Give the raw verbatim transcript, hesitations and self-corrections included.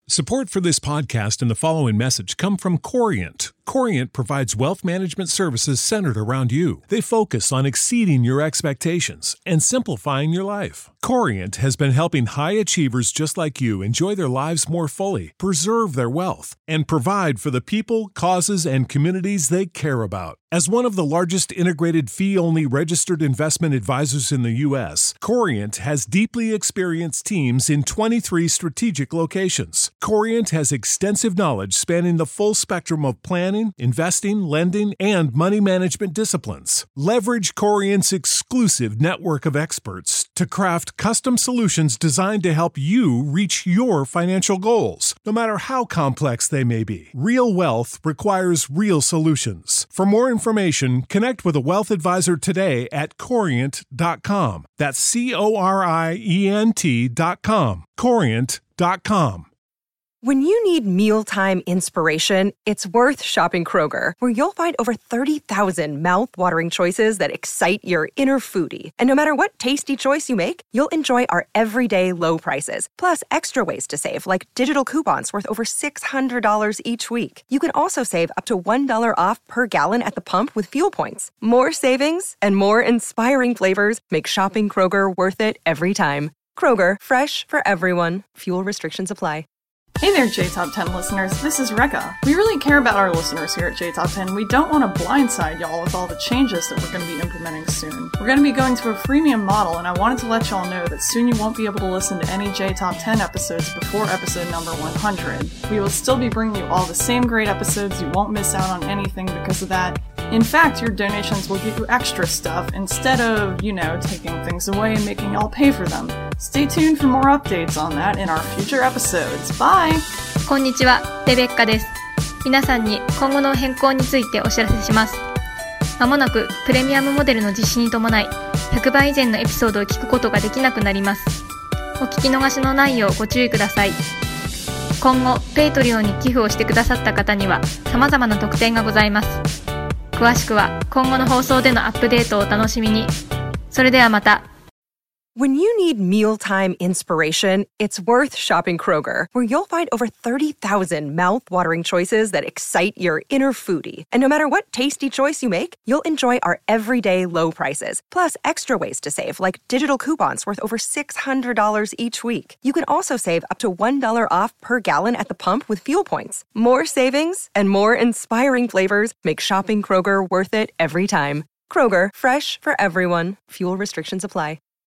Support for this podcast and the following message come from Corient. Corient provides wealth management services centered around you. They focus on exceeding your expectations and simplifying your life. Corient has been helping high achievers just like you enjoy their lives more fully, preserve their wealth, and provide for the people, causes, and communities they care about. As one of the largest integrated fee-only registered investment advisors in the U S, Corient has deeply experienced teams in twenty-three strategic locations. Corient has extensive knowledge spanning the full spectrum of planning, investing, lending, and money management disciplines. Leverage Corient's exclusive network of experts to craft custom solutions designed to help you reach your financial goals, no matter how complex they may be. Real wealth requires real solutions. For more information, connect with a wealth advisor today at corient dot com. That's C O R I E N T dot com. corient dot com. When you need mealtime inspiration, it's worth shopping Kroger, where you'll find over thirty thousand mouth-watering choices that excite your inner foodie. And no matter what tasty choice you make, you'll enjoy our everyday low prices, plus extra ways to save, like digital coupons worth over six hundred dollars each week. You can also save up to one dollar off per gallon at the pump with fuel points. More savings and more inspiring flavors make shopping Kroger worth it every time. Kroger, fresh for everyone. Fuel restrictions apply. Hey there, J Top ten listeners. This is Rekka. We really care about our listeners here at J Top ten. We don't want to blindside y'all with all the changes that we're going to be implementing soon. We're going to be going to a freemium model, and I wanted to let y'all know that soon you won't be able to listen to any J Top ten episodes before episode number one hundred. We will still be bringing you all the same great episodes. You won't miss out on anything because of that. In fact, your donations will give you extra stuff instead of, you know, taking things away and making y'all pay for them. Stay tuned for more updates on that in our future episodes. Bye! こんにちは、レベッカです。皆さんに今後の変更についてお知らせします。まもなくプレミアムモデルの実施に伴い、ひゃくばい以前のエピソードを聞くことができなくなります。お聞き逃しのないようご注意ください。今後、ペイトリオンに寄付をしてくださった方には様々な特典がございます。詳しくは今後の放送でのアップデートをお楽しみに。それではまた。 When you need mealtime inspiration, it's worth shopping Kroger, where you'll find over thirty thousand mouth-watering choices that excite your inner foodie. And no matter what tasty choice you make, you'll enjoy our everyday low prices, plus extra ways to save, like digital coupons worth over six hundred dollars each week. You can also save up to one dollar off per gallon at the pump with fuel points. More savings and more inspiring flavors make shopping Kroger worth it every time. Kroger, fresh for everyone. Fuel restrictions apply.